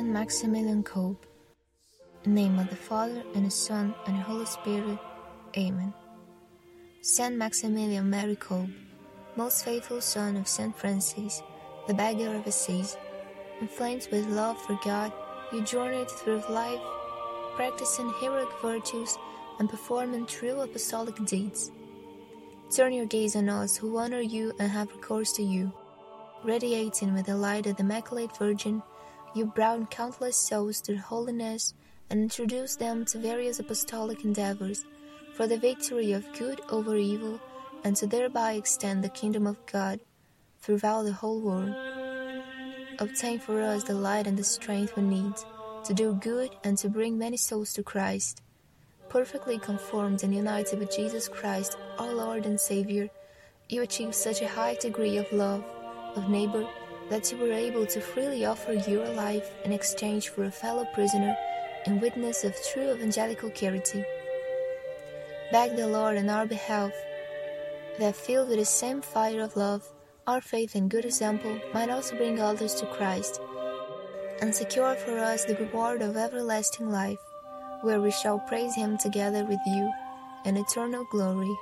Saint Maximilian Kolbe. In the name of the Father, and the Son, and the Holy Spirit. Amen. Saint Maximilian Mary Kolbe, most faithful son of Saint Francis, the beggar of Assisi, inflamed with love for God, you journeyed through life, practicing heroic virtues and performing true apostolic deeds. Turn your gaze on us who honor you and have recourse to you. Radiating with the light of the Immaculate Virgin, you brought countless souls to holiness and introduced them to various apostolic endeavors for the victory of good over evil and to thereby extend the kingdom of God throughout the whole world. Obtain for us the light and the strength we need to do good and to bring many souls to Christ. Perfectly conformed and united with Jesus Christ, our Lord and Savior, you achieved such a high degree of love of neighbor that you were able to freely offer your life in exchange for a fellow prisoner in witness of true evangelical charity. Beg the Lord on our behalf that, filled with the same fire of love, our faith and good example might also bring others to Christ, and secure for us the reward of everlasting life, where we shall praise Him together with you in eternal glory.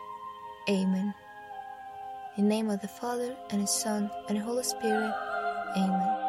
Amen. In the name of the Father, and the Son, and the Holy Spirit. Amen.